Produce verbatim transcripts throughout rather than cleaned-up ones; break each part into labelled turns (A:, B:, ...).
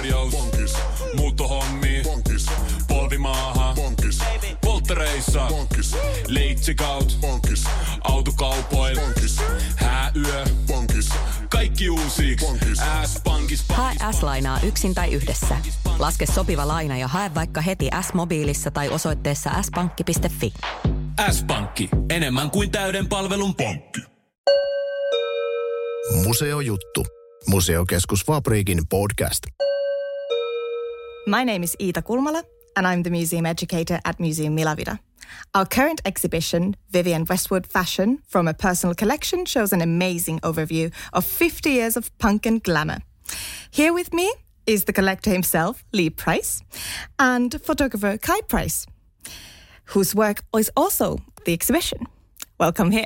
A: korjaus. Pankis. Muuttohommi. Pankis. Polvimaaha. Pankis. Polttereissa. Pankis. Leitsikaut. Pankis. Autokaupoil. Pankis. Hääyö. Pankis. Kaikki uusiiksi. S-pankis.
B: Hae S-lainaa yksin tai yhdessä. Laske sopiva laina ja hae vaikka heti S-mobiilissa tai osoitteessa s pankki piste fi.
A: S-pankki. Enemmän kuin täyden palvelun pankki.
C: Museojuttu. Museokeskus Fabriikin podcast.
D: My name is Iita Kulmala, and I'm the museum educator at Museum Milavida. Our current exhibition, Vivienne Westwood Fashion from a Personal Collection, shows an amazing overview of fifty years of punk and glamour. Here with me is the collector himself, Lee Price, and photographer Kai Price, whose work is also the exhibition. Welcome here.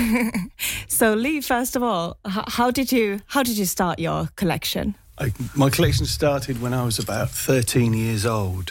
D: So, Lee, first of all, h- how did you how did you start your collection?
E: I, my collection started when I was about thirteen years old.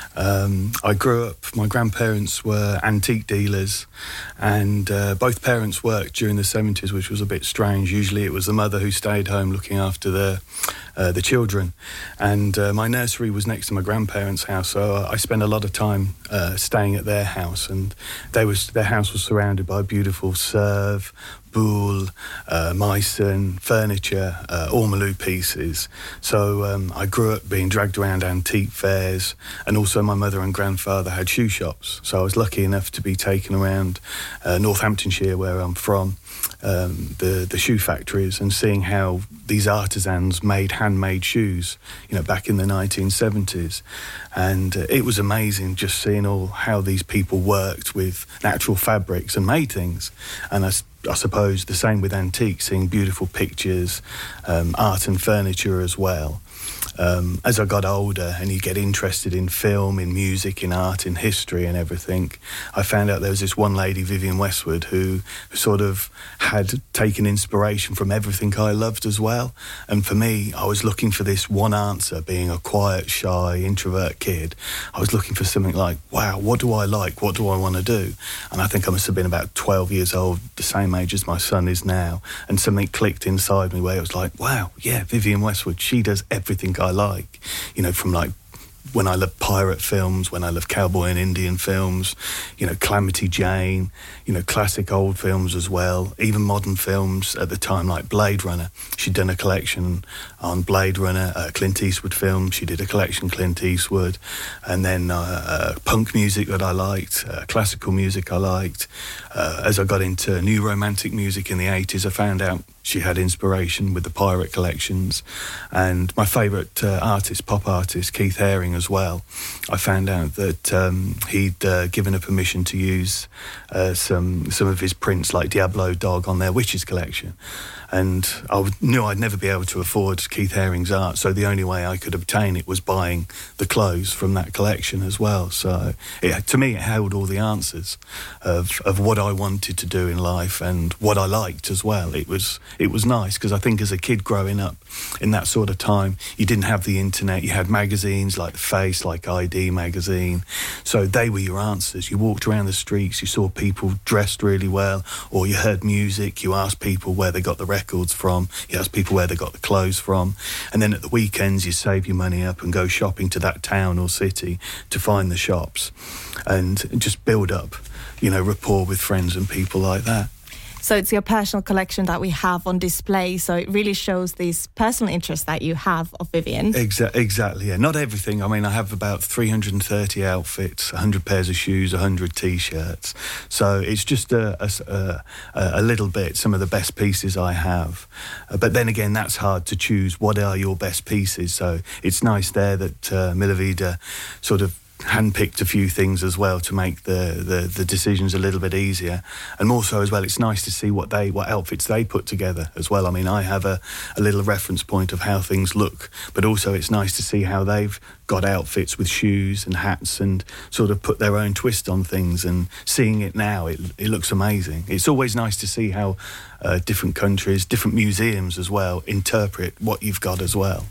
E: Um, I grew up, my grandparents were antique dealers, and uh, both parents worked during the seventies, which was a bit strange. Usually it was the mother who stayed home looking after the, uh, the children. And uh, my nursery was next to my grandparents' house, so I spent a lot of time uh, staying at their house. And they was, their house was surrounded by beautiful Sèvres, Boule, uh, Meissen, furniture, uh, ormolu pieces. So um, I grew up being dragged around antique fairs, and also my mother and grandfather had shoe shops. So I was lucky enough to be taken around uh, Northamptonshire, where I'm from, um, the, the shoe factories, and seeing how these artisans made handmade shoes, you know, back in the nineteen seventies. And uh, it was amazing just seeing all how these people worked with natural fabrics and made things. And I I suppose the same with antiques, seeing beautiful pictures, um, art and furniture as well. Um, as I got older and you get interested in film, in music, in art, in history and everything, I found out there was this one lady, Vivienne Westwood, who sort of had taken inspiration from everything I loved as well. And for me, I was looking for this one answer, being a quiet, shy, introvert kid. I was looking for something like, wow, what do I like? What do I want to do? And I think I must have been about twelve years old, the same age as my son is now. And something clicked inside me where it was like, wow, yeah, Vivienne Westwood, she does everything I like, you know, from like when I love pirate films, when I love cowboy and Indian films, you know, Calamity Jane, you know, classic old films as well, even modern films at the time like Blade Runner. She'd done a collection on Blade Runner, uh, Clint Eastwood films. She did a collection Clint Eastwood, and then uh, uh, punk music that I liked, uh, classical music I liked. Uh, as I got into new romantic music in the eighties, I found out she had inspiration with the pirate collections. And my favourite uh, artist, pop artist, Keith Haring as well, I found out that um, he'd uh, given her permission to use uh, some some of his prints like Diablo Dog on their Witches collection. And I w- knew I'd never be able to afford Keith Haring's art, so the only way I could obtain it was buying the clothes from that collection as well. So it, to me, it held all the answers of, of what I wanted to do in life and what I liked as well. It was it was nice, because I think as a kid growing up in that sort of time, you didn't have the internet. You had magazines like The Face, like I D magazine. So they were your answers. You walked around the streets, you saw people dressed really well, or you heard music, you asked people where they got the records from, you asked people where they got the clothes from, and then at the weekends you save your money up and go shopping to that town or city to find the shops and just build up, you know, rapport with friends and people like that.
D: So it's your personal collection that we have on display. So it really shows this personal interest that you have of Vivienne.
E: Exa- exactly, yeah. Not everything. I mean, I have about three hundred thirty outfits, one hundred pairs of shoes, one hundred T-shirts. So it's just a, a, a, a little bit, some of the best pieces I have. Uh, but then again, that's hard to choose. What are your best pieces? So it's nice there that uh, Milavida sort of handpicked a few things as well to make the, the, the decisions a little bit easier. And more so as well, it's nice to see what they what outfits they put together as well. I mean, I have a, a little reference point of how things look, but also it's nice to see how they've got outfits with shoes and hats and sort of put their own twist on things. And seeing it now, it, it looks amazing. It's always nice to see how uh, different countries, different museums as well, interpret what you've got as well.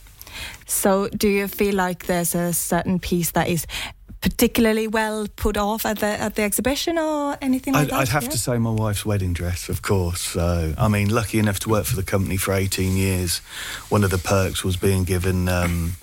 D: So do you feel like there's a certain piece that is particularly well put off at the at the exhibition or anything like
E: I'd,
D: that?
E: I'd have
D: yeah?
E: to say my wife's wedding dress, of course. So, I mean, lucky enough to work for the company for eighteen years. One of the perks was being given um,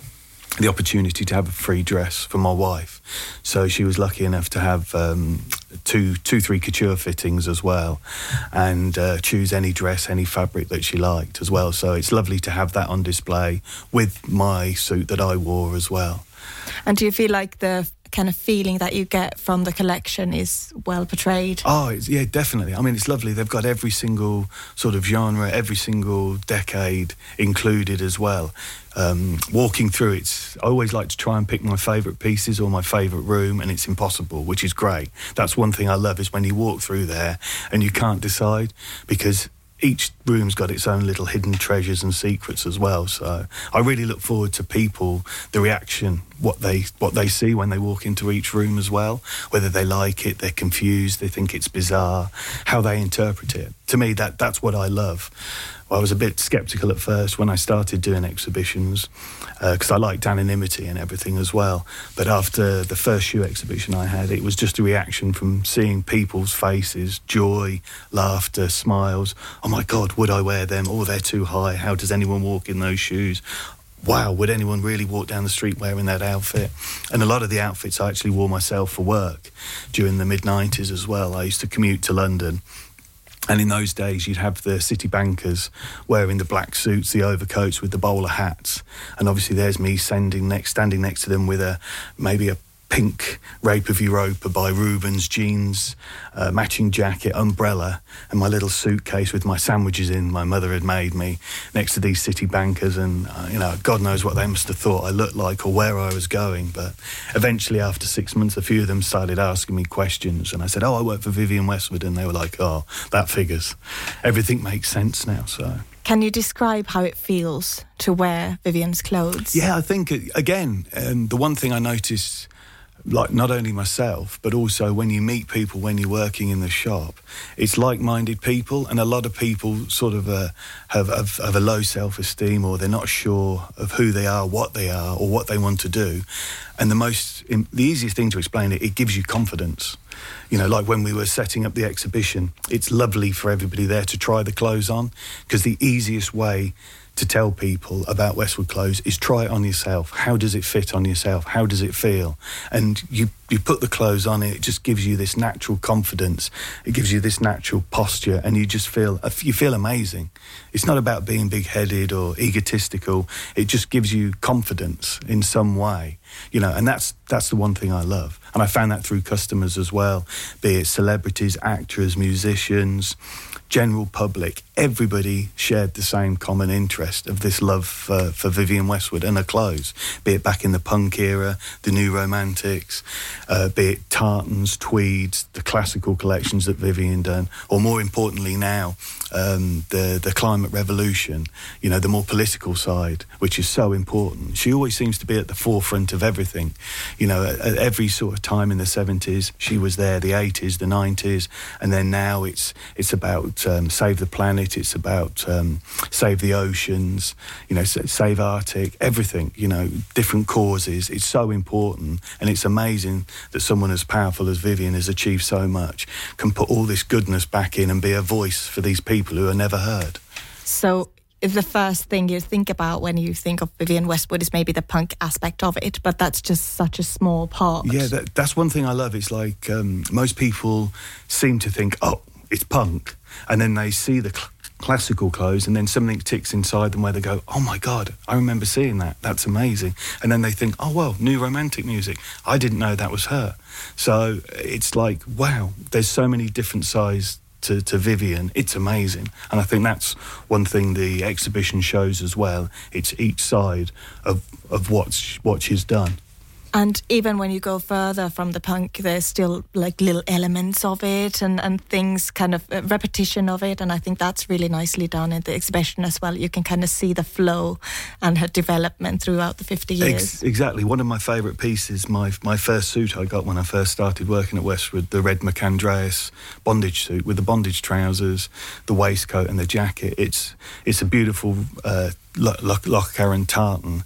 E: the opportunity to have a free dress for my wife. So she was lucky enough to have um, two, two, three couture fittings as well, and uh, choose any dress, any fabric that she liked as well. So it's lovely to have that on display with my suit that I wore as well.
D: And do you feel like the kind of feeling that you get from the collection is well portrayed?
E: Oh, it's, yeah, definitely. I mean, it's lovely. They've got every single sort of genre, every single decade included as well. Um, walking through, it's I always like to try and pick my favourite pieces or my favourite room, and it's impossible, which is great. That's one thing I love, is when you walk through there and you can't decide, because each room's got its own little hidden treasures and secrets as well. So I really look forward to people, the reaction, what they what they see when they walk into each room as well, whether they like it, they're confused, they think it's bizarre, how they interpret it. To me, that that's what I love. I was a bit sceptical at first when I started doing exhibitions, because uh, I liked anonymity and everything as well. But after the first shoe exhibition I had, it was just a reaction from seeing people's faces, joy, laughter, smiles. Oh my God, would I wear them? Oh, they're too high. How does anyone walk in those shoes? Wow, would anyone really walk down the street wearing that outfit? And a lot of the outfits I actually wore myself for work during the mid nineties as well. I used to commute to London. And in those days, you'd have the city bankers wearing the black suits, the overcoats with the bowler hats. And obviously there's me standing next, standing next to them with a maybe a pink Rape of Europa by Rubens jeans, uh, matching jacket, umbrella, and my little suitcase with my sandwiches in my mother had made me next to these city bankers. And, uh, you know, God knows what they must have thought I looked like or where I was going. But eventually, after six months, a few of them started asking me questions. And I said, oh, I work for Vivienne Westwood. And they were like, oh, that figures. Everything makes sense now, so...
D: Can you describe how it feels to wear Vivienne's clothes?
E: Yeah, I think, again, um, the one thing I noticed... like not only myself, but also when you meet people when you're working in the shop, it's like-minded people, and a lot of people sort of uh, have, have, have a low self-esteem, or they're not sure of who they are, what they are, or what they want to do. And the most, the easiest thing to explain it, it gives you confidence. You know, like when we were setting up the exhibition, it's lovely for everybody there to try the clothes on, because the easiest way to tell people about Westwood clothes is try it on yourself. How does it fit on yourself? How does it feel? And you, you put the clothes on, it just gives you this natural confidence. It gives you this natural posture, and you just feel, you feel amazing. It's not about being big-headed or egotistical. It just gives you confidence in some way, you know, and that's that's the one thing I love. And I found that through customers as well, be it celebrities, actors, musicians, general public. Everybody shared the same common interest of this love for, for Vivienne Westwood and her clothes, be it back in the punk era, the new romantics, uh, be it tartans, tweeds, the classical collections that Vivienne done, or more importantly now, um, the, the climate revolution, you know, the more political side, which is so important. She always seems to be at the forefront of everything. You know, at, at every sort of time in the seventies, she was there, the eighties, the nineties, and then now it's it's about um, save the planet, it's about um, save the oceans, you know, save Arctic, everything, you know, different causes. It's so important, and it's amazing that someone as powerful as Vivienne has achieved so much, can put all this goodness back in and be a voice for these people who are never heard.
D: So if the first thing you think about when you think of Vivienne Westwood is maybe the punk aspect of it, but that's just such a small part.
E: Yeah, that, that's one thing I love. It's like um, most people seem to think, oh, it's punk, and then they see the cl- classical clothes, and then something ticks inside them where they go, oh my God, I remember seeing that, that's amazing. And then they think, oh well, new romantic music, I didn't know that was her. So it's like, wow, there's so many different sides to, to Vivienne. It's amazing. And I think that's one thing the exhibition shows as well. It's each side of, of what's, what she's done.
D: And even when you go further from the punk, there's still like little elements of it and, and things, kind of uh, repetition of it. And I think that's really nicely done in the exhibition as well. You can kind of see the flow and her development throughout the fifty years.
E: Ex- exactly. One of my favourite pieces, my my first suit I got when I first started working at Westwood, the red McAndreas bondage suit with the bondage trousers, the waistcoat and the jacket. It's, it's a beautiful... Uh, Lock Karen tartan,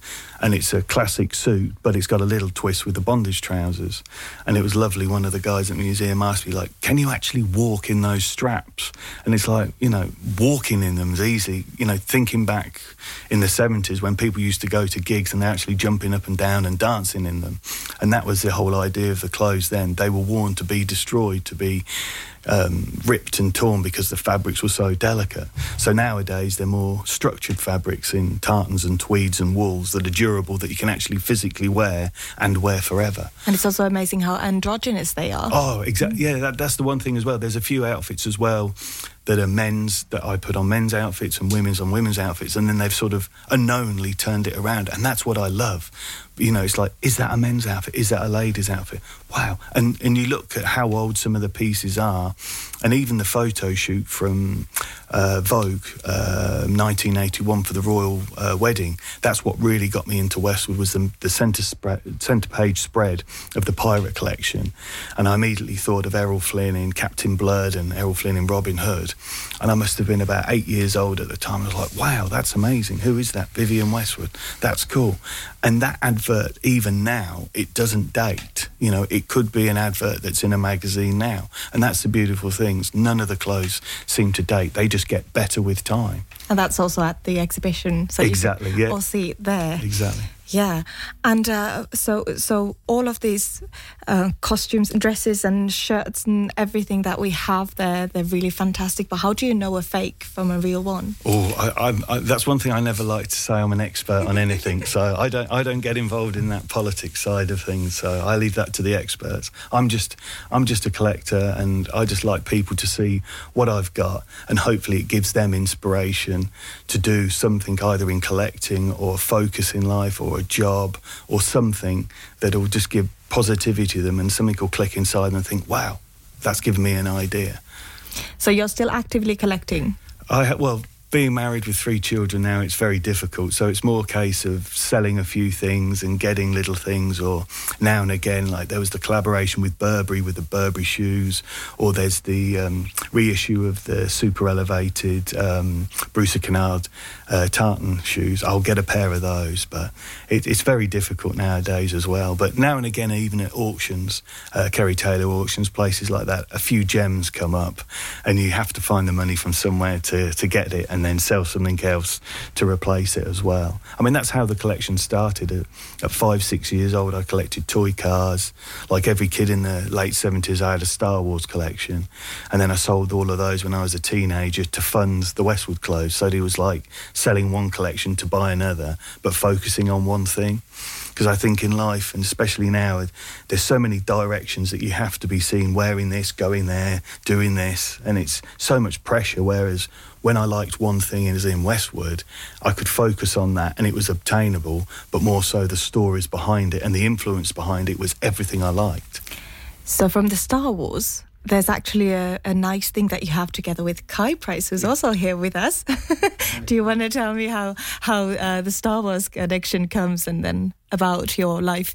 E: and it's a classic suit, but it's got a little twist with the bondage trousers. And it was lovely. One of the guys at the museum asked me, like, can you actually walk in those straps? And it's like, you know, walking in them is easy. You know, thinking back in the seventies when people used to go to gigs and they're actually jumping up and down and dancing in them. And that was the whole idea of the clothes then. They were worn to be destroyed, to be um, ripped and torn because the fabrics were so delicate. So nowadays they're more structured fabrics in tartans and tweeds and wools that are durable, that you can actually physically wear and wear forever.
D: And it's also amazing how androgynous they are.
E: Oh, exactly. Yeah, that, that's the one thing as well. There's a few outfits as well that are men's, that I put on men's outfits and women's on women's outfits, and then they've sort of unknowingly turned it around, and that's what I love. You know, it's like, is that a men's outfit? Is that a lady's outfit? Wow. And and you look at how old some of the pieces are, and even the photo shoot from uh, Vogue, uh, nineteen eighty-one for the royal uh, wedding, that's what really got me into Westwood, was the, the centre, spread, centre page spread of the pirate collection. And I immediately thought of Errol Flynn in Captain Blood and Errol Flynn in Robin Hood. And I must have been about eight years old at the time. I was like, wow, that's amazing. Who is that? Vivienne Westwood. That's cool. And that advert, even now, it doesn't date. You know, it could be an advert that's in a magazine now. And that's the beautiful things. None of the clothes seem to date. They just get better with time.
D: And that's also at the exhibition. So
E: exactly,
D: you can
E: yeah.
D: all see it there.
E: Exactly.
D: Yeah, and uh, so so all of these uh, costumes and dresses and shirts and everything that we have there, they're really fantastic. But how do you know a fake from a real one?
E: Oh, I, I, I, that's one thing I never like to say. I'm an expert on anything, so I don't I don't get involved in that politics side of things. So I leave that to the experts. I'm just I'm just a collector, and I just like people to see what I've got, and hopefully it gives them inspiration to do something either in collecting or focus in life or a job or something that will just give positivity to them, and something will click inside and think, wow, that's given me an idea.
D: So you're still actively collecting?
E: I ha- well, being married with three children now, it's very difficult. So it's more a case of selling a few things and getting little things, or now and again, like there was the collaboration with Burberry with the Burberry shoes, or there's the um, reissue of the super elevated um, Bruce Kennard uh, tartan shoes. I'll get a pair of those, but it, it's very difficult nowadays as well. But now and again, even at auctions, uh, Kerry Taylor auctions, places like that, a few gems come up, and you have to find the money from somewhere to, to get it, and then sell something else to replace it as well. I mean, that's how the collection started. At, at five, six years old, I collected toy cars. Like every kid in the late seventies, I had a Star Wars collection. And then I sold all of those when I was a teenager to fund the Westwood clothes. So it was like selling one collection to buy another, but focusing on one thing. Because I think in life, and especially now, there's so many directions that you have to be seen wearing this, going there, doing this, and it's so much pressure, whereas when I liked one thing as in Westwood, I could focus on that and it was obtainable, but more so the stories behind it and the influence behind it was everything I liked.
D: So from the Star Wars, there's actually a, a nice thing that you have together with Kai Price, who's also here with us. Do you want to tell me how, how uh, the Star Wars connection comes, and then about your life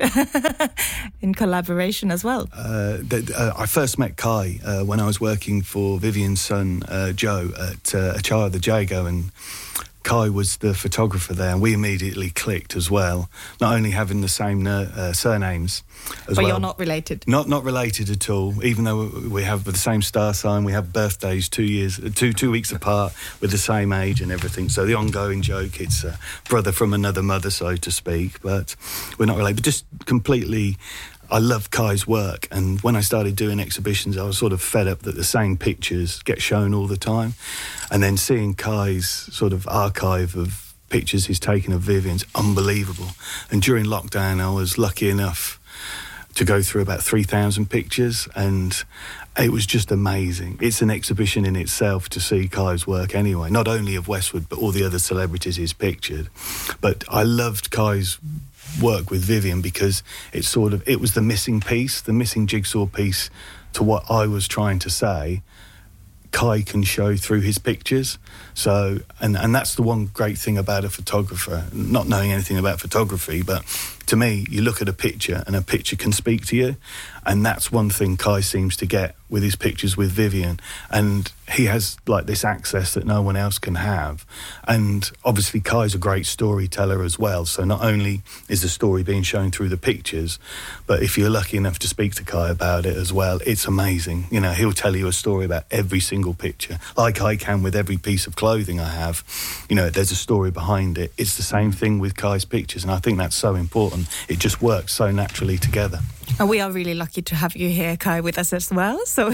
D: in collaboration as well? Uh,
E: the, uh, I first met Kai uh, when I was working for Vivienne's son, uh, Joe, at uh, Achara the Jago, and Kai was the photographer there, and we immediately clicked as well, not only having the same uh, surnames as
D: but
E: well.
D: You're not related?
E: Not not related at all, even though we have the same star sign, we have birthdays two years, two two weeks apart with the same age and everything. So the ongoing joke, it's a brother from another mother, so to speak, but we're not related. But just completely... I love Kai's work, and when I started doing exhibitions, I was sort of fed up that the same pictures get shown all the time. And then seeing Kai's sort of archive of pictures he's taken of Vivienne's unbelievable. And during lockdown, I was lucky enough to go through about three thousand pictures, and it was just amazing. It's an exhibition in itself to see Kai's work anyway, not only of Westwood, but all the other celebrities he's pictured. But I loved Kai's work with Vivienne because it sort of it was the missing piece, the missing jigsaw piece to what I was trying to say. Kai can show through his pictures. So and and that's the one great thing about a photographer, not knowing anything about photography, but to me, you look at a picture and a picture can speak to you, and that's one thing Kai seems to get with his pictures with Vivienne, and he has like this access that no one else can have. And obviously Kai's a great storyteller as well, so not only is the story being shown through the pictures, but if you're lucky enough to speak to Kai about it as well, it's amazing. You know, he'll tell you a story about every single picture, like I can with every piece of clothing I have. You know, there's a story behind it. It's the same thing with Kai's pictures, and I think that's so important. It just works so naturally together.
D: And we are really lucky to have you here, Kai, with us as well. So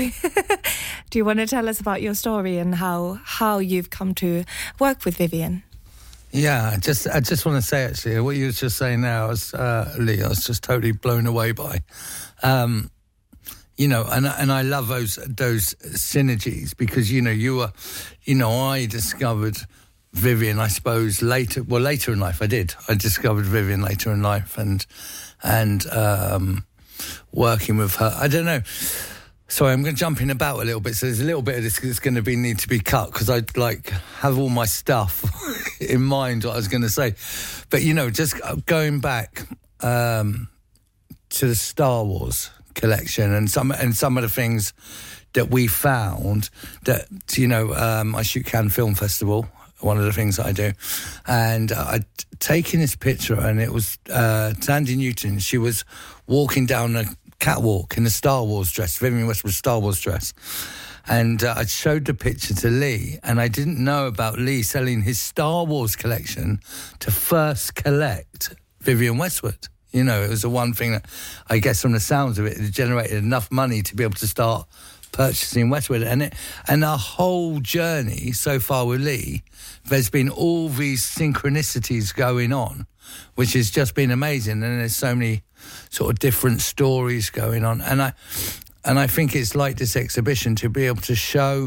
D: do you want to tell us about your story and how how you've come to work with Vivienne?
F: Yeah, just I just want to say, actually, what you were just saying now, was, uh, Lee, I was just totally blown away by. Um, you know, and and I love those those synergies because, you know, you were, you know, I discovered Vivienne, I suppose, later, well, later in life I did. I discovered Vivienne later in life and, and um, working with her, I don't know. Sorry, I'm going to jump in about a little bit. So there's a little bit of this that's going to be need to be cut because I like have all my stuff in mind what I was going to say. But, you know, just going back um, to the Star Wars collection and some and some of the things that we found that, you know, um, I shoot Cannes Film Festival, one of the things that I do. And uh, I'd taken this picture and it was uh, Tandy Newton. She was walking down a catwalk in a Star Wars dress, Vivienne Westwood's Star Wars dress. And uh, I showed the picture to Lee, and I didn't know about Lee selling his Star Wars collection to first collect Vivienne Westwood. You know, it was the one thing that, I guess from the sounds of it, it generated enough money to be able to start purchasing Westwood. And it, and our whole journey so far with Lee, there's been all these synchronicities going on, which has just been amazing. And there's so many sort of different stories going on. And I and I think it's like this exhibition to be able to show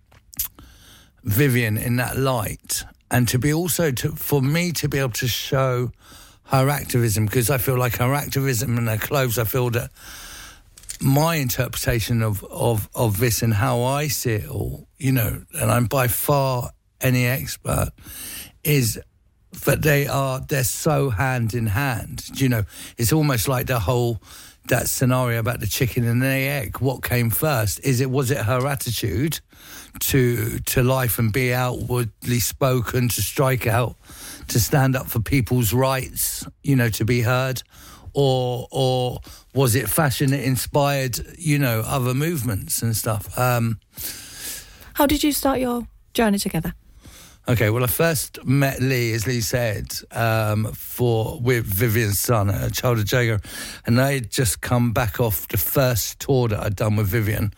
F: Vivienne in that light and to be also, to, for me to be able to show her activism, because I feel like her activism and her clothes, I feel that my interpretation of, of, of this and how I see it all, you know, and I'm by far any expert, is that they are, they're so hand in hand. You know, it's almost like the whole, that scenario about the chicken and the egg. What came first? Is it, was it her attitude to, to life and be outwardly spoken, to strike out, to stand up for people's rights, you know, to be heard? Or, or was it fashion that inspired, you know, other movements and stuff? Um,
D: How did you start your journey together?
F: Okay, well, I first met Lee, as Lee said, um, for with Vivienne's son, a child of Jago, and I had just come back off the first tour that I'd done with Vivienne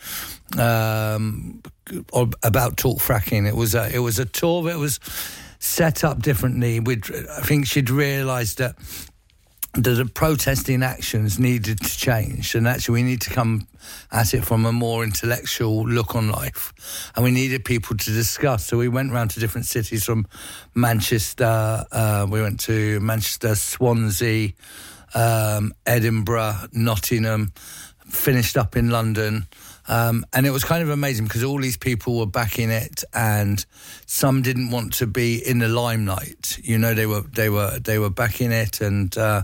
F: um, about Talk Fracking. It was a, it was a tour that was set up differently. We'd, I think she'd realised that that the protesting actions needed to change, and actually we need to come at it from a more intellectual look on life, and we needed people to discuss. So we went round to different cities, from Manchester, uh, we went to Manchester, Swansea, um, Edinburgh, Nottingham, finished up in London. Um, and it was kind of amazing because all these people were backing it, and some didn't want to be in the limelight. You know, they were they were they were backing it, and uh,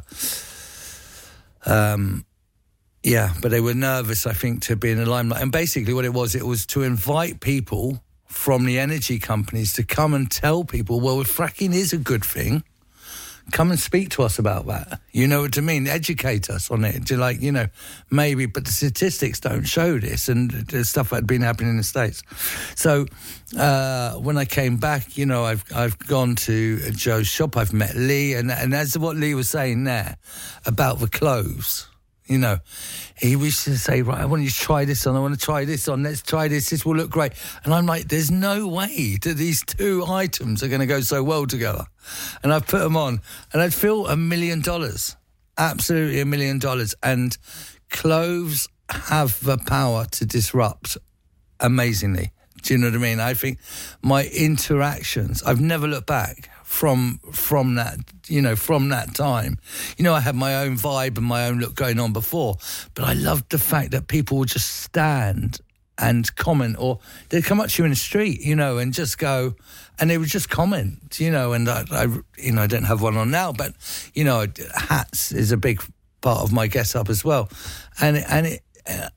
F: um, yeah, but they were nervous, I think, to be in the limelight. And basically, what it was, it was to invite people from the energy companies to come and tell people, well, if fracking is a good thing, come and speak to us about that. You know what I mean? Educate us on it. To like, you know, maybe, but the statistics don't show this, and the stuff that had been happening in the States. So uh, when I came back, you know, I've I've gone to Joe's shop. I've met Lee, and and as what Lee was saying there about the clothes. You know, he used to say, right, I want you to try this on, I want to try this on, let's try this, this will look great. And I'm like, there's no way that these two items are going to go so well together. And I've put them on, and I'd feel a million dollars, absolutely a million dollars. And clothes have the power to disrupt amazingly. Do you know what I mean? I think my interactions, I've never looked back from from that, you know, from that time. You know, I had my own vibe and my own look going on before, but I loved the fact that people would just stand and comment, or they'd come up to you in the street, you know, and just go, and they would just comment, you know, and I, I you know, I don't have one on now, but, you know, hats is a big part of my get-up as well. And, and it,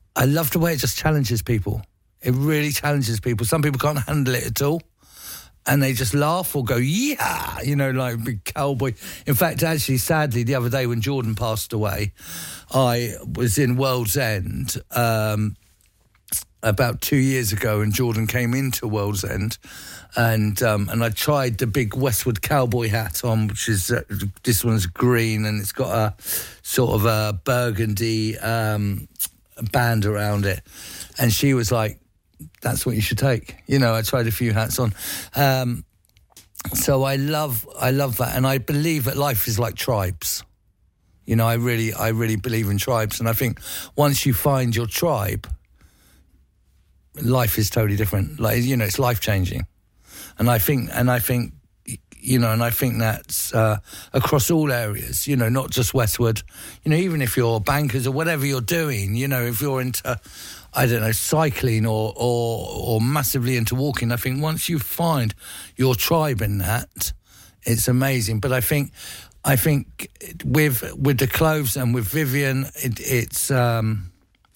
F: I love the way it just challenges people. It really challenges people. Some people can't handle it at all, and they just laugh or go, yeah, you know, like a big cowboy. In fact, actually, sadly, the other day when Jordan passed away, I was in World's End um, about two years ago, and Jordan came into World's End, and um, and I tried the big Westwood cowboy hat on, which is, uh, this one's green, and it's got a sort of a burgundy um, band around it. And she was like, that's what you should take. You know, I tried a few hats on. Um, so I love, I love that. And I believe that life is like tribes. You know, I really, I really believe in tribes. And I think once you find your tribe, life is totally different. Like, you know, it's life changing. And I think, and I think, you know, and I think that's uh, across all areas, you know, not just Westwood. You know, even if you're bankers or whatever you're doing, you know, if you're into, I don't know, cycling or, or or massively into walking, I think once you find your tribe in that, it's amazing. But I think, I think with with the clothes and with Vivienne, it, it's um,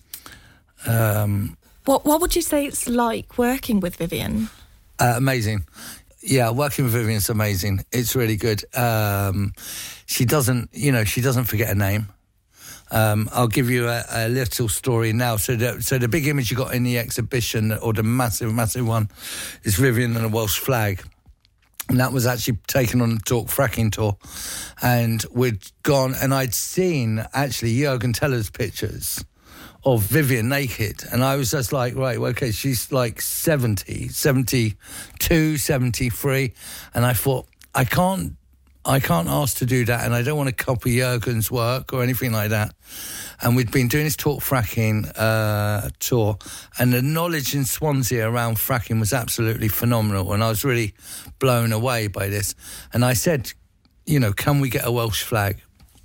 F: um,
D: what what would you say it's like working with Vivienne?
F: Uh, amazing. Yeah, working with Vivienne's amazing. It's really good. Um, she doesn't, you know, she doesn't forget a name. Um, I'll give you a, a little story now. So the, so the big image you got in the exhibition, or the massive, massive one, is Vivienne and a Welsh flag. And that was actually taken on the Talk Fracking tour. And we'd gone, and I'd seen, actually, Jürgen Teller's pictures of Vivienne naked. And I was just like, right, well, okay, she's like seventy, seventy-two, seventy-three. And I thought, I can't, I can't ask to do that, and I don't want to copy Jürgen's work or anything like that. And we'd been doing this Talk Fracking uh, tour, and the knowledge in Swansea around fracking was absolutely phenomenal, and I was really blown away by this. And I said, you know, can we get a Welsh flag?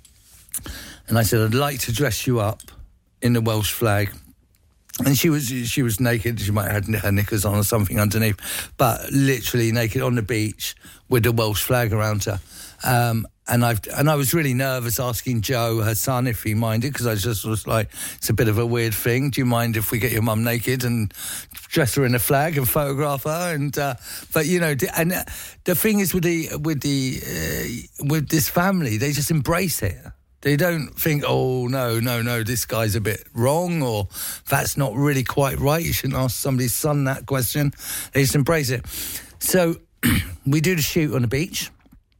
F: And I said, I'd like to dress you up in the Welsh flag. And she was she was naked. She might have had her knickers on or something underneath, but literally naked on the beach with the Welsh flag around her. Um, and I and I was really nervous asking Joe, her son, if he minded, because I just was like, it's a bit of a weird thing. Do you mind if we get your mum naked and dress her in a flag and photograph her? And uh, but you know, and the thing is with the with the uh, with this family, they just embrace it. They don't think, oh, no, no, no, this guy's a bit wrong, or that's not really quite right. You shouldn't ask somebody's son that question. They just embrace it. So we do the shoot on the beach,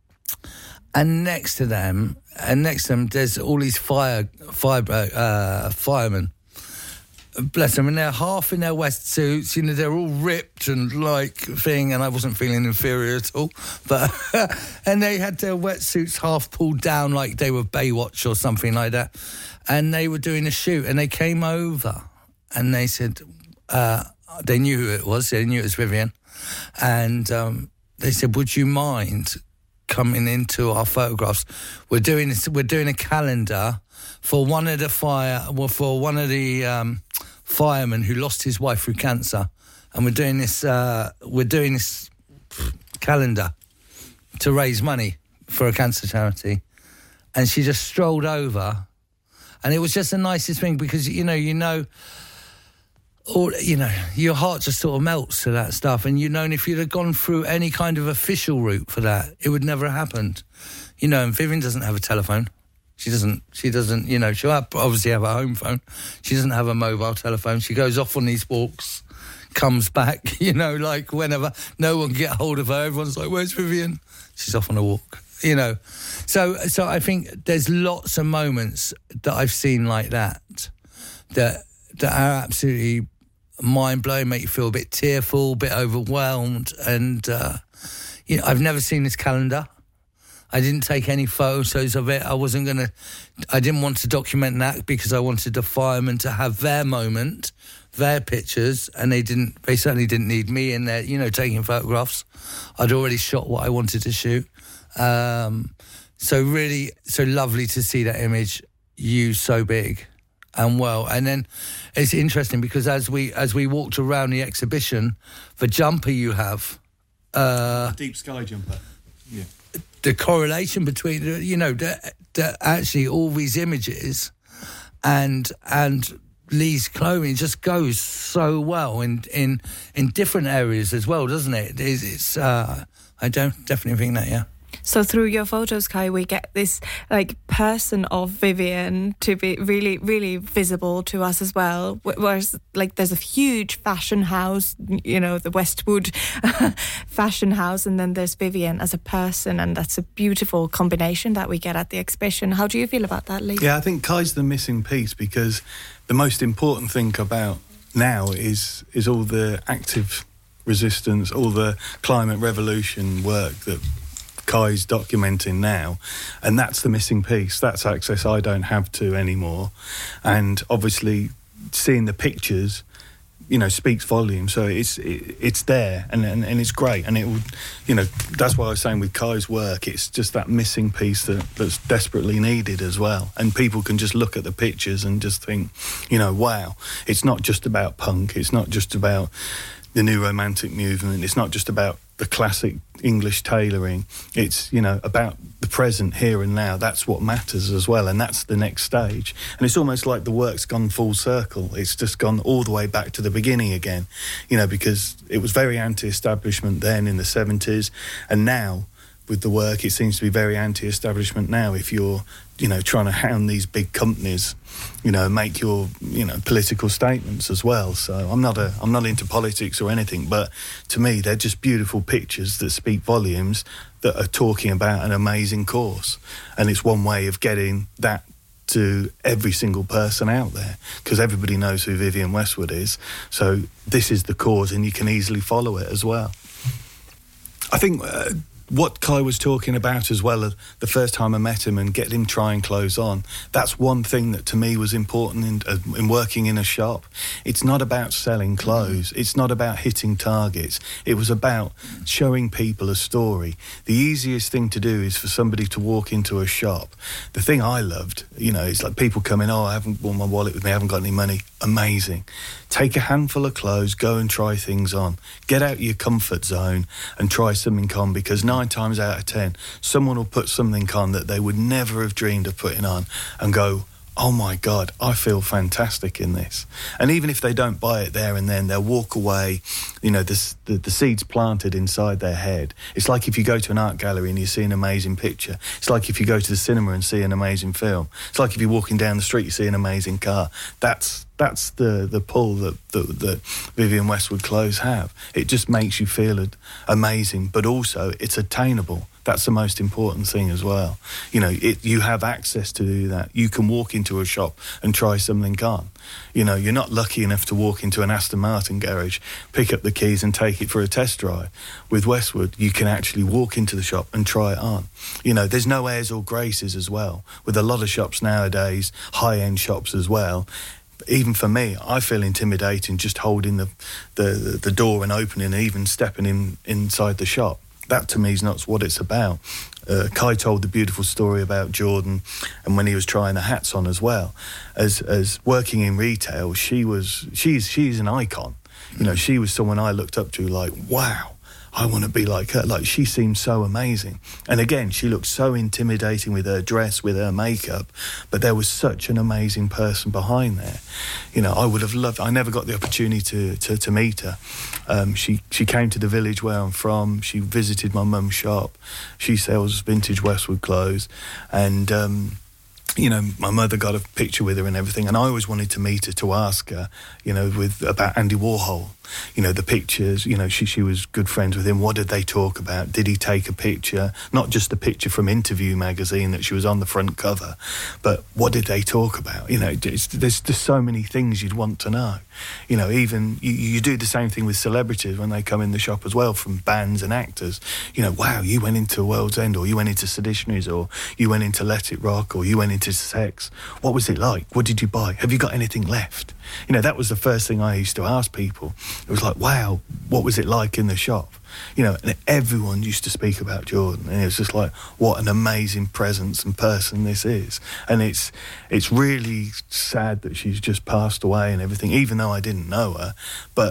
F: and next to them, and next to them, there's all these fire, fire, uh, firemen. Bless them, and they're half in their wetsuits, you know, they're all ripped and like thing, and I wasn't feeling inferior at all, but and they had their wetsuits half pulled down like they were Baywatch or something like that, and they were doing a shoot, and they came over and they said, uh, they knew who it was, they knew it was Vivienne, and um, they said, would you mind coming into our photographs? We're doing we're doing a calendar for one of the fire, well, for one of the um, firemen who lost his wife through cancer, and we're doing this. Uh, we're doing this calendar to raise money for a cancer charity. And she just strolled over, and it was just the nicest thing, because you know, you know, or you know, your heart just sort of melts to that stuff, and you know, and if you'd have gone through any kind of official route for that, it would never have happened. You know, and Vivienne doesn't have a telephone. She doesn't, she doesn't, you know, she'll have, obviously have a home phone. She doesn't have a mobile telephone. She goes off on these walks, comes back, you know, like whenever. No one can get hold of her. Everyone's like, where's Vivienne? She's off on a walk, you know. So so I think there's lots of moments that I've seen like that, that, that are absolutely mind-blowing, make you feel a bit tearful, a bit overwhelmed. And, uh, you know, I've never seen this calendar. I didn't take any photos of it. I wasn't going to... I didn't want to document that because I wanted the firemen to have their moment, their pictures, and they didn't. They certainly didn't need me in there, you know, taking photographs. I'd already shot what I wanted to shoot. Um, so really, so lovely to see that image used so big and well. And then it's interesting because as we as we walked around the exhibition, the jumper you have... Uh,
E: Deep sky jumper, yeah.
F: The correlation between, you know, the, the, actually all these images and and Lee's clothing just goes so well in in in different areas as well, doesn't it? It's, it's uh, I don't definitely think that, yeah.
D: So through your photos, Kai, we get this like person of Vivienne to be really, really visible to us as well. Whereas like there's a huge fashion house, you know, the Westwood fashion house, and then there's Vivienne as a person, and that's a beautiful combination that we get at the exhibition. How do you feel about that, Lee?
E: Yeah, I think Kai's the missing piece, because the most important thing about now is is all the active resistance, all the climate revolution work that Kai's documenting now, and that's the missing piece. That's access I don't have to anymore. And obviously seeing the pictures, you know, speaks volumes. So it's it, it's there, and, and and it's great. And it would, you know, that's why I was saying with Kai's work, it's just that missing piece that, that's desperately needed as well. And people can just look at the pictures and just think, you know, wow, it's not just about punk, it's not just about the new romantic movement, it's not just about the classic English tailoring. It's, you know, about the present, here and now. That's what matters as well, and that's the next stage. And it's almost like the work's gone full circle. It's just gone all the way back to the beginning again, you know, because it was very anti-establishment then in the seventies, and now with the work it seems to be very anti-establishment now. If you're, you know, trying to hound these big companies, you know, make your, you know, political statements as well. So I'm not a, I'm not into politics or anything, but to me they're just beautiful pictures that speak volumes, that are talking about an amazing cause. And it's one way of getting that to every single person out there, because everybody knows who Vivienne Westwood is. So this is the cause, and you can easily follow it as well. I think uh, what Kai was talking about as well, uh, the first time I met him and get him trying clothes on, that's one thing that to me was important in, uh, in working in a shop. It's not about selling clothes. It's not about hitting targets. It was about showing people a story. The easiest thing to do is for somebody to walk into a shop. The thing I loved, you know, is like people come in, oh, I haven't brought my wallet with me, I haven't got any money. Amazing. Take a handful of clothes, go and try things on. Get out of your comfort zone and try something on, because nine times out of ten, someone will put something on that they would never have dreamed of putting on and go, oh my God, I feel fantastic in this. And even if they don't buy it there and then, they'll walk away, you know, the, the, the seeds planted inside their head. It's like if you go to an art gallery and you see an amazing picture. It's like if you go to the cinema and see an amazing film. It's like if you're walking down the street, you see an amazing car. That's that's the, the pull that, that, that Vivienne Westwood clothes have. It just makes you feel amazing, but also it's attainable. That's the most important thing as well. You know, it, you have access to do that. You can walk into a shop and try something on. You know, you're not lucky enough to walk into an Aston Martin garage, pick up the keys and take it for a test drive. With Westwood, you can actually walk into the shop and try it on. You know, there's no airs or graces as well. With a lot of shops nowadays, high-end shops as well, even for me, I feel intimidating just holding the, the, the door and opening and even stepping in inside the shop. That to me is not what it's about. Uh, Kai told the beautiful story about Jordan and when he was trying the hats on as well. As as working in retail, she was she's she's an icon. You know, she was someone I looked up to, like, wow, I want to be like her. Like, she seemed so amazing. And again, she looked so intimidating with her dress, with her makeup, but there was such an amazing person behind there. You know, I would have loved, I never got the opportunity to, to, to meet her. Um, she, she came to the village where I'm from. She visited my mum's shop. She sells vintage Westwood clothes. And, um, you know, my mother got a picture with her and everything, and I always wanted to meet her to ask her, you know, with about Andy Warhol. You know, the pictures, you know, she she was good friends with him. What did they talk about? Did he take a picture? Not just the picture from Interview magazine that she was on the front cover, but what did they talk about? You know, it's, there's just so many things you'd want to know. You know, even you, you do the same thing with celebrities when they come in the shop as well, from bands and actors. You know, wow, you went into World's End, or you went into Seditionaries, or you went into Let It Rock, or you went into Sex. What was it like? What did you buy? Have you got anything left? You know, that was the first thing I used to ask people. It was like, wow, what was it like in the shop? You know, and everyone used to speak about Jordan, and it was just like, what an amazing presence and person this is. And it's it's really sad that she's just passed away and everything, even though I didn't know her. But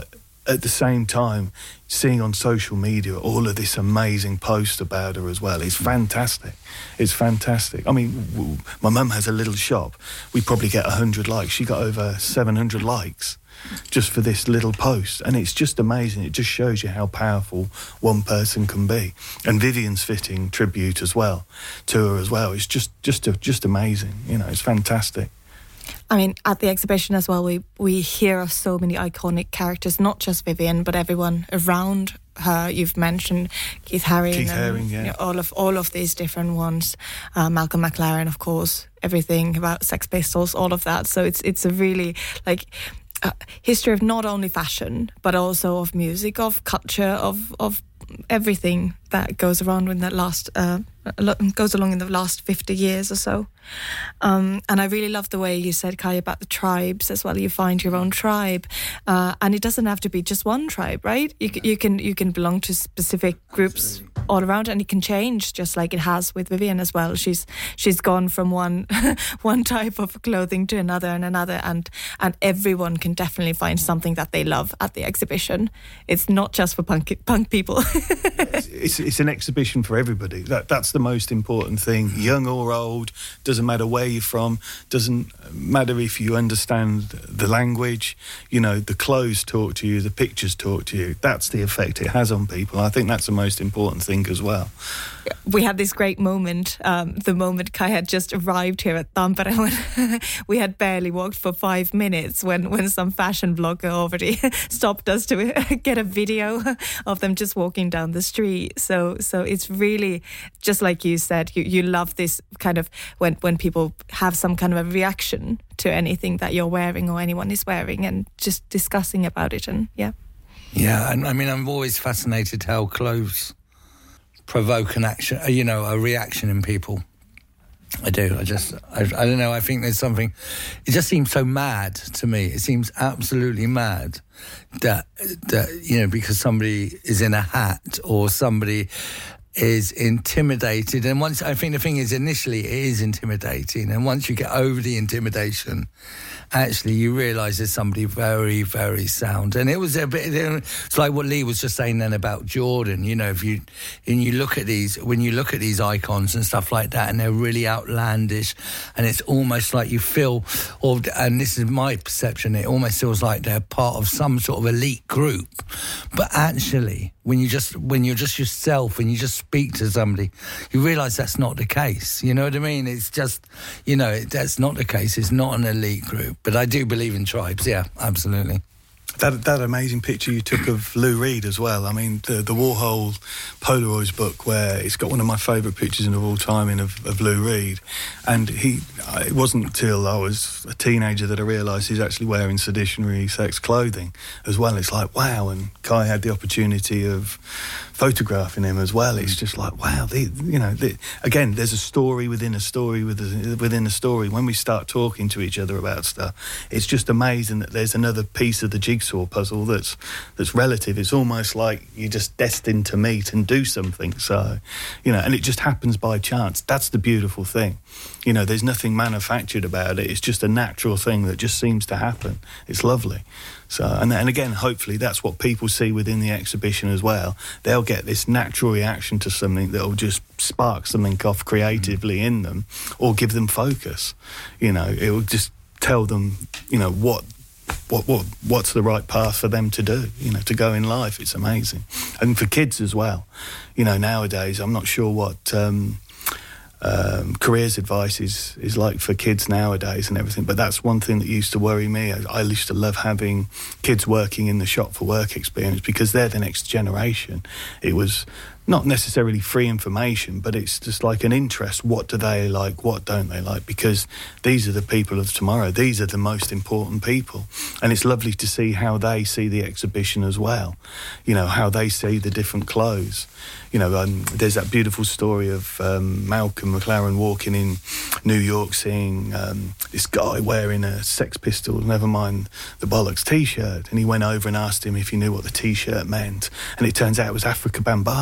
E: at the same time, seeing on social media all of this amazing post about her as well, it's fantastic. It's fantastic. I mean, w- my mum has a little shop. We probably get one hundred likes. She got over seven hundred likes just for this little post. And it's just amazing. It just shows you how powerful one person can be. And Vivienne's fitting tribute as well to her as well. It's just just just amazing. You know, it's fantastic.
D: I mean, at the exhibition as well, we, we hear of so many iconic characters, not just Vivienne, but everyone around her. You've mentioned Keith Haring.
E: Keith
D: and,
E: Haring, yeah.
D: You know, all of all of these different ones. Uh, Malcolm McLaren, of course. Everything about Sex Pistols, all of that. So it's it's a really like uh, history of not only fashion, but also of music, of culture, of of everything that goes around in that last uh, goes along in the last fifty years or so. Um, and I really love the way you said, Kai, about the tribes as well. You find your own tribe, uh, and it doesn't have to be just one tribe, right? You, you can you can belong to specific groups all around, and it can change, just like it has with Vivienne as well. She's she's gone from one one type of clothing to another and another, and and everyone can definitely find something that they love at the exhibition. It's not just for punk punk people.
E: it's, it's an exhibition for everybody. That that's the most important thing. Young or old, doesn't matter where you're from, doesn't matter if you understand the language. You know, the clothes talk to you, the pictures talk to you. That's the effect it has on people. I think that's the most important thing as well.
D: We had this great moment, um, the moment Kai had just arrived here at Tampere, when we had barely walked for five minutes when, when some fashion blogger already stopped us to get a video of them just walking down the street. So so it's really, just like you said, you, you love this kind of, when, when people have some kind of a reaction to anything that you're wearing or anyone is wearing, and just discussing about it. And yeah.
F: Yeah, and I mean, I'm always fascinated how clothes provoke an action, you know, a reaction in people. I do. I just, I, I don't know. I think there's something, it just seems so mad to me. It seems absolutely mad that, that, you know, because somebody is in a hat or somebody is intimidated. And once, I think the thing is, initially it is intimidating. And once you get over the intimidation, actually you realise there's somebody very, very sound. And it was a bit, it's like what Lee was just saying then about Jordan. You know, if you, and you look at these, when you look at these icons and stuff like that, and they're really outlandish, and it's almost like you feel, or, and this is my perception, it almost feels like they're part of some sort of elite group. But actually, when you just, when you're just yourself, when you just speak to somebody, you realise that's not the case. You know what I mean? It's just, you know, it, that's not the case. It's not an elite group. But I do believe in tribes, yeah, absolutely.
E: That that amazing picture you took of Lou Reed as well. I mean, the, the Warhol Polaroids book, where it's got one of my favourite pictures of all time in of, of Lou Reed. And he, it wasn't until I was a teenager that I realised he's actually wearing seditionary sex clothing as well. It's like, wow. And Kai had the opportunity of photographing him as well. It's just like, wow, the, you know, the, again, there's a story within a story within a story. When we start talking to each other about stuff, it's just amazing that there's another piece of the jigsaw puzzle that's that's relative. It's almost like you're just destined to meet and do something. So, you know, and it just happens by chance. That's the beautiful thing. You know, there's nothing manufactured about it. It's just a natural thing that just seems to happen. It's lovely. So, and, and again, hopefully that's what people see within the exhibition as well. They'll get this natural reaction to something that will just spark something off creatively in them, or give them focus. You know, it will just tell them, you know, what, what, what, what's the right path for them to do, you know, to go in life. It's amazing. And for kids as well. You know, nowadays, I'm not sure what... Um, Um, careers advice is, is like for kids nowadays and everything, but that's one thing that used to worry me. I, I used to love having kids working in the shop for work experience, because they're the next generation. It was not necessarily free information, but it's just like an interest. What do they like? What don't they like? Because these are the people of tomorrow. These are the most important people. And it's lovely to see how they see the exhibition as well. You know, how they see the different clothes. You know, um, there's that beautiful story of um, Malcolm McLaren walking in New York, seeing um, this guy wearing a Sex Pistols, never mind the bollocks, T-shirt. And he went over and asked him if he knew what the T-shirt meant. And it turns out it was Afrika Bambaataa.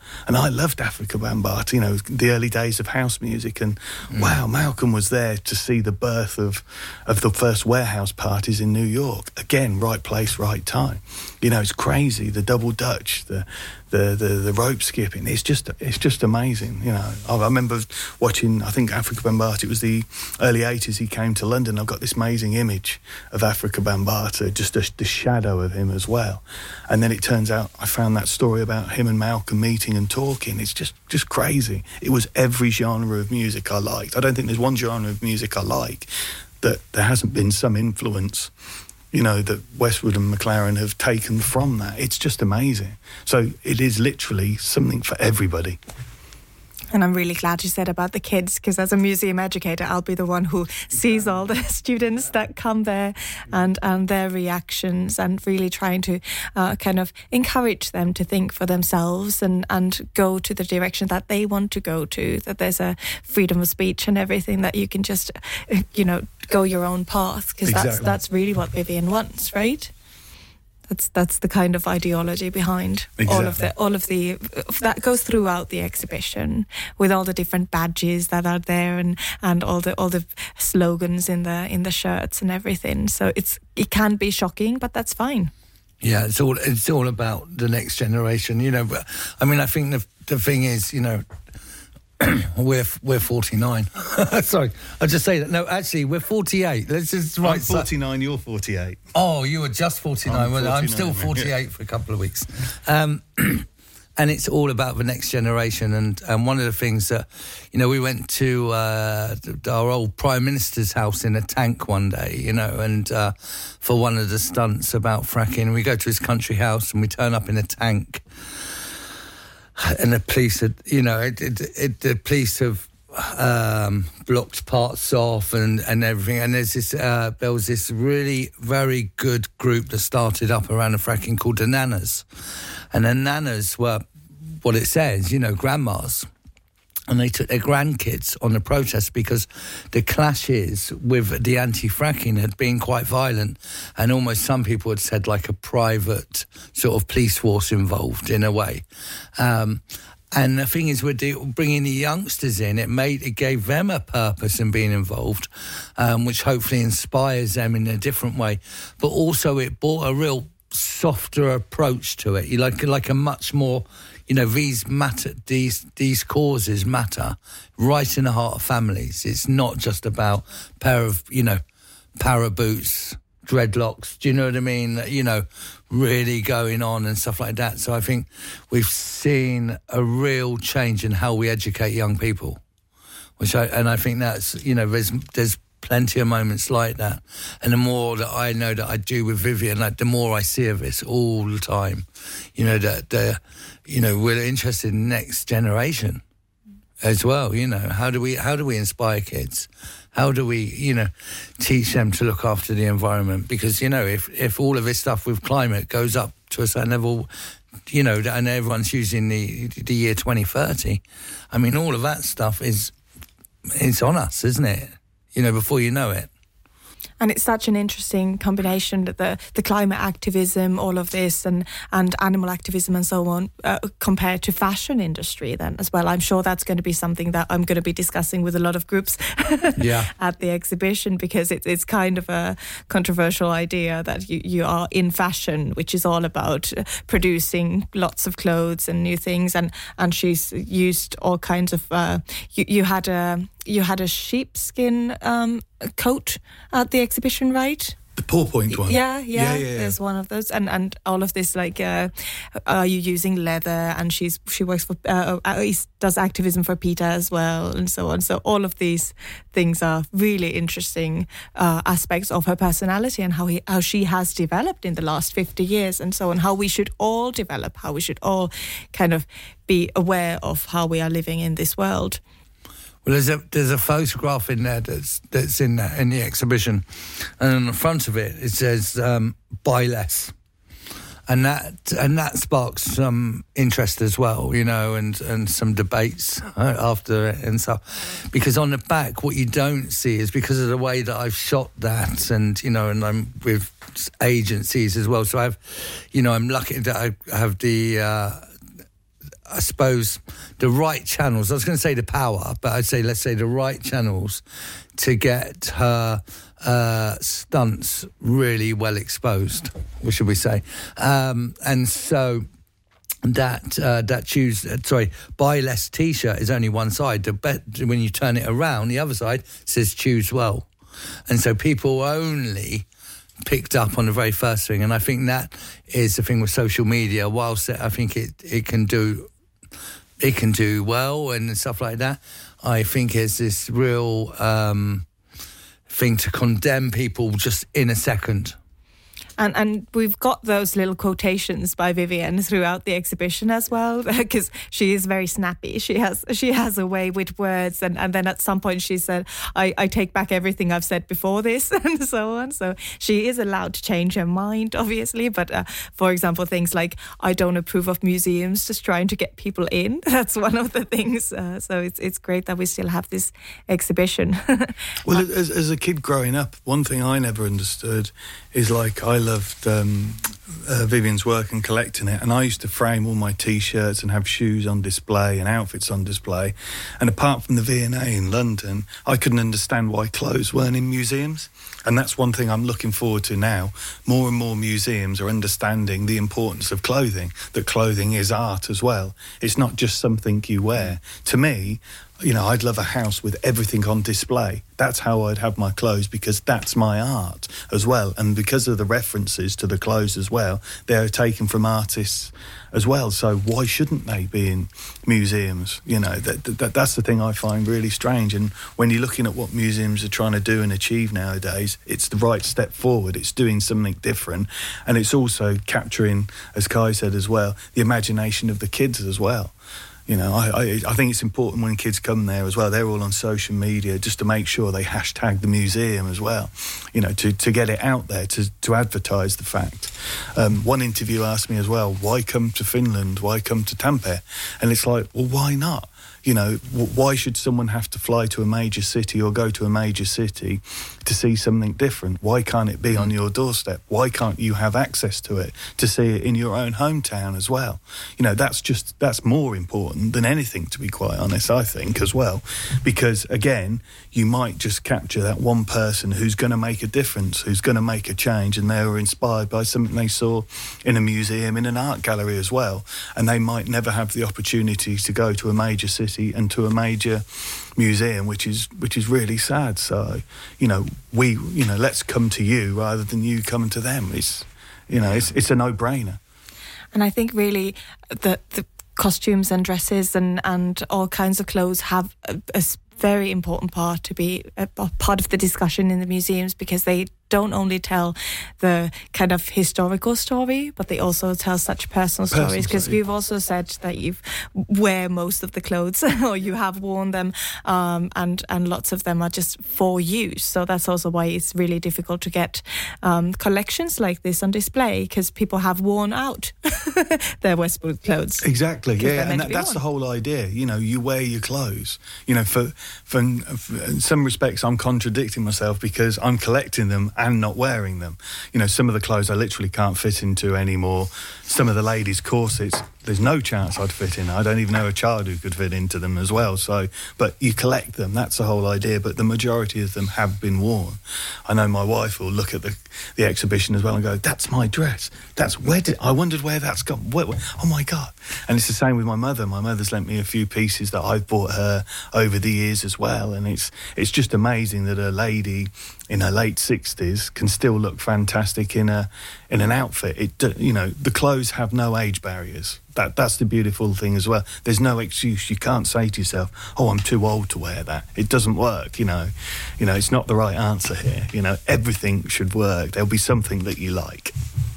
E: And I loved Africa Bambaataa, you know, the early days of house music. And mm. wow, Malcolm was there to see the birth of, of the first warehouse parties in New York. Again, right place, right time. You know, it's crazy. The double Dutch, the the the, the rope skipping. It's just it's just amazing. You know, I, I remember watching, I think Africa Bambaataa, it was the early eighties, he came to London. I've got this amazing image of Africa Bambaataa, just a, the shadow of him as well. And then it turns out I found that story about him and Malcolm meeting and talking. It's just, just crazy. It was every genre of music I liked. I don't think there's one genre of music I like that there hasn't been some influence, you know, that Westwood and McLaren have taken from that. It's just amazing. So it is literally something for everybody.
D: And I'm really glad you said about the kids, because as a museum educator, I'll be the one who sees all the students that come there and, and their reactions, and really trying to uh, kind of encourage them to think for themselves and, and go to the direction that they want to go to, that there's a freedom of speech and everything, that you can just, you know, go your own path, because exactly. that's, that's really what Vivienne wants, right? That's that's the kind of ideology behind exactly. all of the all of the that goes throughout the exhibition, with all the different badges that are there, and, and all the all the slogans in the in the shirts and everything. So it's it can be shocking, but that's fine.
F: Yeah, it's all it's all about the next generation, you know. But I mean, I think the the thing is, you know, we're we're forty-nine. Sorry, I'll just say that. No, actually, we're forty-eight. Let's just write.
E: I'm forty-nine. You're forty-eight.
F: Oh, you were just forty-nine. I'm, well, I'm still forty-eight yeah. for a couple of weeks. Um, and it's all about the next generation. And, and one of the things that, you know, we went to uh, our old Prime Minister's house in a tank one day, you know, and uh, for one of the stunts about fracking, we go to his country house and we turn up in a tank. And the police had, you know, it, it, it, the police have um, blocked parts off and, and everything. And there's this, uh, there was this really very good group that started up around the fracking called the Nanas. And the Nanas were, what it says, you know, grandmas. And they took their grandkids on the protest because the clashes with the anti-fracking had been quite violent, and almost some people had said like a private sort of police force involved in a way. Um, and the thing is, with the, bringing the youngsters in, it made it gave them a purpose in being involved, um, which hopefully inspires them in a different way. But also, it brought a real softer approach to it. You like like a much more. You know, these matter, these these causes matter right in the heart of families. It's not just about pair of, you know, para boots, dreadlocks. Do you know what I mean? You know, really going on and stuff like that. So I think we've seen a real change in how we educate young people, which I and I think that's, you know, there's there's plenty of moments like that. And the more that I know that I do with Vivienne, like the more I see of this all the time. You know, that the you know, we're interested in next generation as well. You know, how do we how do we inspire kids? How do we, you know, teach them to look after the environment? Because, you know, if, if all of this stuff with climate goes up to a certain level, you know, and everyone's using the the year twenty thirty, I mean, all of that stuff is it's on us, isn't it? You know, before you know it.
D: And it's such an interesting combination that the, the climate activism, all of this, and, and animal activism and so on, uh, compared to fashion industry then as well. I'm sure that's going to be something that I'm going to be discussing with a lot of groups yeah. at the exhibition, because it, it's kind of a controversial idea that you, you are in fashion, which is all about producing lots of clothes and new things. And, and she's used all kinds of... Uh, you, you had a... You had a sheepskin um, coat at the exhibition, right?
E: The Paw Point one.
D: Yeah, yeah,
E: yeah, yeah, yeah.
D: There's one of those, and and all of this, like, uh, are you using leather? And she's she works for uh, does activism for PETA as well, and so on. So all of these things are really interesting uh, aspects of her personality and how he how she has developed in the last fifty years, and so on. How we should all develop, how we should all kind of be aware of how we are living in this world.
F: Well, there's a there's a photograph in there that's that's in the, in the exhibition, and on the front of it it says um, "Buy less," and that and that sparks some interest as well, you know, and, and some debates after it and stuff. Because on the back, what you don't see is because of the way that I've shot that, and you know, and I'm with agencies as well. So I've, you know, I'm lucky that I have the. Uh, I suppose, the right channels. I was going to say the power, but I'd say, let's say the right channels to get her uh, stunts really well exposed, what should we say? Um, and so that uh, that choose, uh, sorry, buy less T-shirt is only one side. The bet, when you turn it around, the other side says choose well. And so people only picked up on the very first thing. And I think that is the thing with social media. Whilst I think it, it can do it can do well and stuff like that, I think it's this real um, thing to condemn people just in a second.
D: And and we've got those little quotations by Vivienne throughout the exhibition as well, because she is very snappy. She has she has a way with words, and, and then at some point she said, I, I take back everything I've said before this, and so on. So she is allowed to change her mind, obviously. But uh, for example, things like, I don't approve of museums just trying to get people in. That's one of the things. Uh, so it's it's great that we still have this exhibition.
E: Well, as, as a kid growing up, one thing I never understood is, like, I loved um, uh, Vivienne's work and collecting it, and I used to frame all my T-shirts and have shoes on display and outfits on display. And apart from the V and A in London, I couldn't understand why clothes weren't in museums. And that's one thing I'm looking forward to now. More and more museums are understanding the importance of clothing, that clothing is art as well. It's not just something you wear. To me, you know, I'd love a house with everything on display. That's how I'd have my clothes, because that's my art as well. And because of the references to the clothes as well, they're taken from artists as well. So why shouldn't they be in museums? You know, that, that that's the thing I find really strange. And when you're looking at what museums are trying to do and achieve nowadays, it's the right step forward. It's doing something different. And it's also capturing, as Kai said as well, the imagination of the kids as well. You know, I, I I think it's important when kids come there as well, they're all on social media, just to make sure they hashtag the museum as well, you know, to, to get it out there, to, to advertise the fact. Um, one interview asked me as well, why come to Finland? Why come to Tampere? And it's like, well, why not? You know, w- why should someone have to fly to a major city or go to a major city to see something different? Why can't it be on your doorstep? Why can't you have access to it to see it in your own hometown as well? You know, that's just, that's more important than anything, to be quite honest, I think, as well. Because, again, you might just capture that one person who's going to make a difference, who's going to make a change, and they were inspired by something they saw in a museum, in an art gallery as well. And they might never have the opportunity to go to a major city and to a major museum, which is which is really sad. So, you know, we, you know, let's come to you rather than you coming to them. It's, you know, it's it's a no-brainer.
D: And I think really the the costumes and dresses and, and all kinds of clothes have a, a very important part to be a, a part of the discussion in the museums, because they don't only tell the kind of historical story, but they also tell such personal, personal stories. Because you've also said that you wear most of the clothes, or you have worn them, um, and and lots of them are just for use. So that's also why it's really difficult to get um, collections like this on display, because people have worn out their Westwood clothes.
E: Exactly, yeah, and that, that's the whole idea. You know, you wear your clothes. You know, for, for for in some respects, I'm contradicting myself because I'm collecting them and not wearing them. You know, some of the clothes I literally can't fit into anymore. Some of the ladies' corsets, there's no chance I'd fit in. I don't even know a child who could fit into them as well. So, but you collect them, that's the whole idea. But the majority of them have been worn. I know my wife will look at the the exhibition as well and go, that's my dress. That's where did, I wondered where that's gone. Where, where, oh my God. And it's the same with my mother. My mother's lent me a few pieces that I've bought her over the years as well. And it's it's just amazing that a lady in her late sixties can still look fantastic in a in an outfit. It, you know, the clothes have no age barriers. That that's the beautiful thing as well. There's no excuse. You can't say to yourself, "Oh, I'm too old to wear that." It doesn't work. You know, you know, it's not the right answer here. You know, everything should work. There'll be something that you like.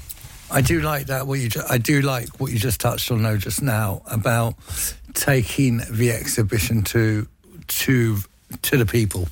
F: I do like that. What you, ju- I do like what you just touched on, though, just now about taking the exhibition to to to the people.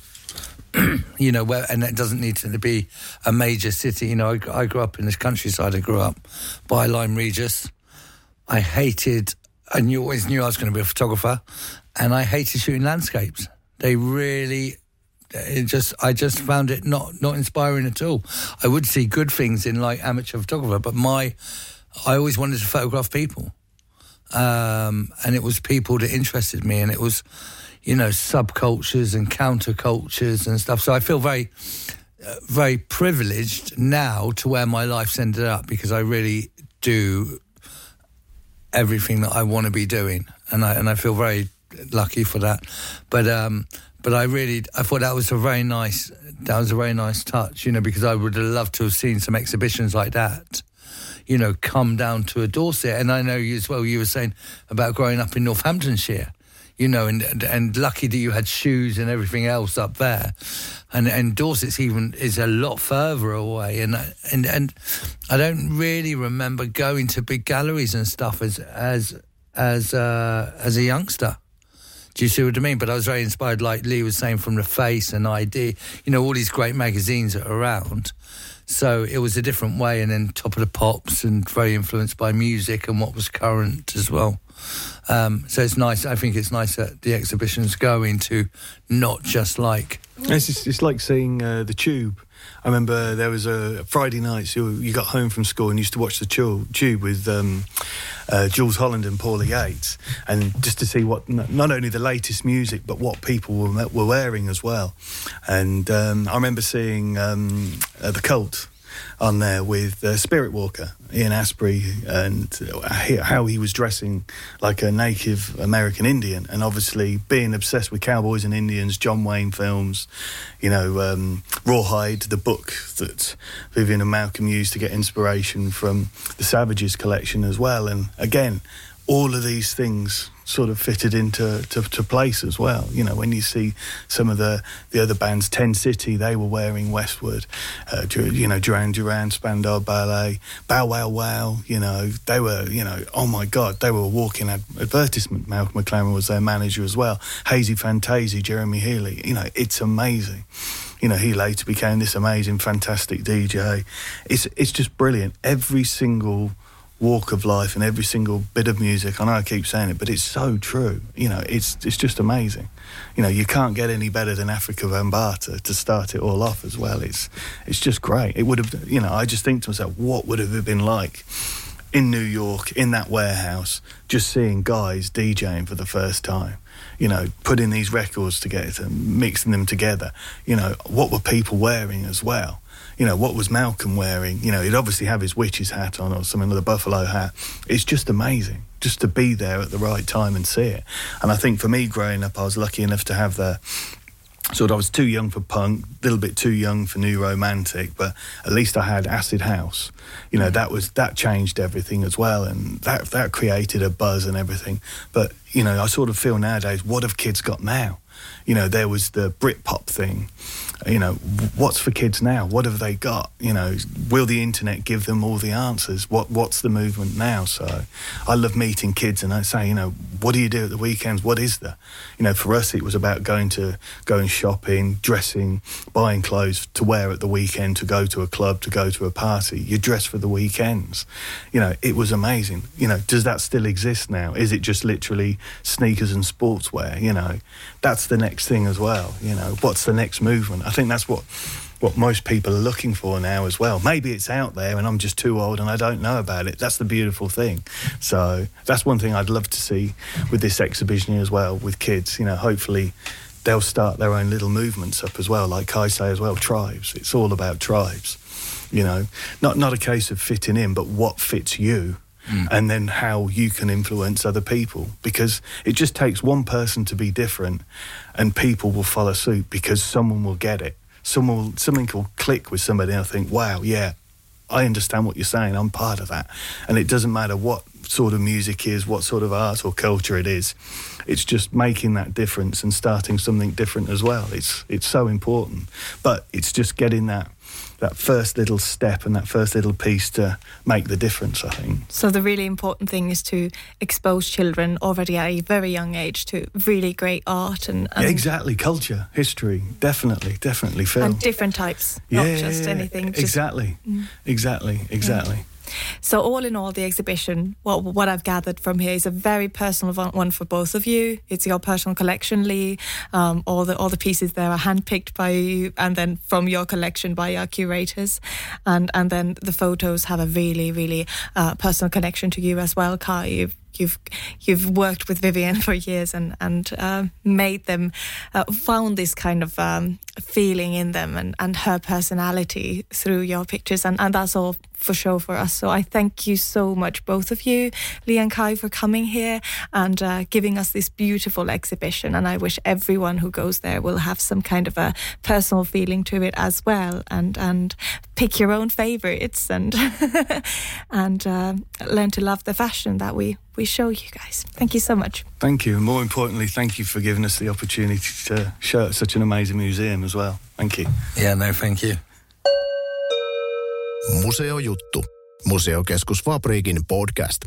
F: You know, where, and it doesn't need to be a major city. You know, I, I grew up in this countryside. I grew up by Lyme Regis. I hated, I knew, always knew I was going to be a photographer, and I hated shooting landscapes. They really, it just, I just found it not, not inspiring at all. I would see good things in like amateur photographer, but my, I always wanted to photograph people. Um, and it was people that interested me, and it was, you know, subcultures and countercultures and stuff. So I feel very, uh, very privileged now to where my life's ended up, because I really do everything that I want to be doing, and I and I feel very lucky for that. But um, but I really, I thought that was a very nice, that was a very nice touch, you know, because I would have loved to have seen some exhibitions like that, you know, come down to a Dorset. And I know you as well, you were saying about growing up in Northamptonshire, you know, and and, and lucky that you had shoes and everything else up there. And and Dorset's even is a lot further away. And and and I don't really remember going to big galleries and stuff as as as uh, as a youngster. Do you see what I mean? But I was very inspired, like Lee was saying, from The Face and I D, you know, all these great magazines that are around. So it was a different way, and then Top of the Pops, and very influenced by music and what was current as well. Um, so it's nice. I think it's nice that the exhibition's going to not just like...
E: It's, just, it's like seeing uh, the Tube. I remember there was a Friday night, so you got home from school and used to watch the Tube with um, uh, Jules Holland and Paula Yates, and just to see what not only the latest music but what people were, were wearing as well. And um, I remember seeing um, uh, The Cult on there with uh, Spirit Walker, Ian Astbury, and how he was dressing like a native American Indian, and obviously being obsessed with cowboys and Indians, John Wayne films, you know, um, Rawhide, the book that Vivian and Malcolm used to get inspiration from the Savages collection as well. And again, all of these things sort of fitted into to, to place as well. You know, when you see some of the, the other bands, Ten City, they were wearing Westwood, uh, you know, Duran Duran, Spandau Ballet, Bow Wow Wow, you know, they were, you know, oh my God, they were a walking ad- advertisement. Malcolm McLaren was their manager as well. Hazy Fantasy, Jeremy Healy, you know, it's amazing. You know, he later became this amazing, fantastic D J. It's, it's just brilliant. Every single walk of life and every single bit of music. I know I keep saying it, but it's so true. You know, it's it's just amazing. You know, you can't get any better than Afrika Bambaataa to start it all off as well. It's it's just great. It would have, you know, I just think to myself, what would have it been like in New York, in that warehouse, just seeing guys DJing for the first time, you know, putting these records together, mixing them together. You know, what were people wearing as well? You know, what was Malcolm wearing? You know, he'd obviously have his witch's hat on or something with a buffalo hat. It's just amazing just to be there at the right time and see it. And I think for me growing up, I was lucky enough to have the sort of, I was too young for punk, a little bit too young for new romantic, but at least I had acid house. You know, that was, that changed everything as well, and that that created a buzz and everything. But, you know, I sort of feel nowadays, what have kids got now? You know, there was the Britpop thing. You know, what's for kids now? What have they got? You know, will the internet give them all the answers? What What's the movement now? So I love meeting kids, and I say, you know, what do you do at the weekends? What is there? You know, for us, it was about going to going shopping, dressing, buying clothes to wear at the weekend, to go to a club, to go to a party. You dress for the weekends. You know, it was amazing. You know, does that still exist now? Is it just literally sneakers and sportswear? You know, that's the next thing as well. You know, what's the next movement? I think that's what what most people are looking for now as well. Maybe it's out there and I'm just too old and I don't know about it. That's the beautiful thing. So that's one thing I'd love to see with this exhibition here as well, with kids. You know, hopefully they'll start their own little movements up as well, like Kai say as well, tribes. It's all about tribes. You know, not not a case of fitting in, but what fits you. Mm. And then how you can influence other people, because it just takes one person to be different and people will follow suit because someone will get it. Someone will, something will click with somebody and I think, wow, yeah, I understand what you're saying, I'm part of that. And it doesn't matter what sort of music is, what sort of art or culture it is. It's just making that difference and starting something different as well. It's it's so important. But it's just getting that that first little step and that first little piece to make the difference, I think.
D: So the really important thing is to expose children already at a very young age to really great art and... and
E: yeah, exactly, culture, history, definitely, definitely, film.
D: And different types,
E: yeah,
D: not just anything. Just,
E: exactly, mm. exactly, exactly.
D: Yeah. So all in all, the exhibition, what what I've gathered from here is a very personal one for both of you. It's your personal collection, Lee. Um, all the all the pieces there are handpicked by you, and then from your collection by our curators, and and then the photos have a really really uh, personal connection to you as well, Kai. You've you've you've worked with Vivienne for years and and uh, made them uh, found this kind of um, feeling in them and, and her personality through your pictures, and, and that's all for show for us. So I thank you so much, both of you, Lee and Kai, for coming here and uh, giving us this beautiful exhibition. And I wish everyone who goes there will have some kind of a personal feeling to it as well, and and pick your own favorites and and uh, learn to love the fashion that we we show you guys. Thank you so much.
E: Thank you. And more importantly, thank you for giving us the opportunity to show at such an amazing museum as well. Thank you.
F: Yeah, no, thank you.
C: Museojuttu. Museokeskus Fabriikin podcast.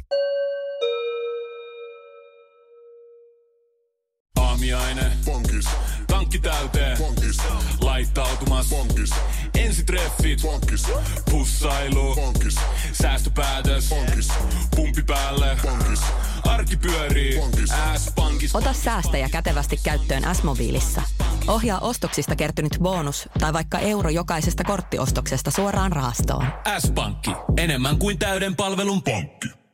A: Aamiaine. Bonkis. Tankki täyteen. Bonkis. Laittautumas. Bonkis. Ensitreffit. Bonkis. Pussailu. Bonkis. Säästöpäätös. Bonkis. Pumpi päälle. Bonkis. Arki pyörii. S-pankis.
B: Ota säästäjä kätevästi käyttöön S-mobiilissa. Ohjaa ostoksista kertynyt bonus tai vaikka euro jokaisesta korttiostoksesta suoraan rahastoon.
A: S-pankki. Enemmän kuin täyden palvelun pankki.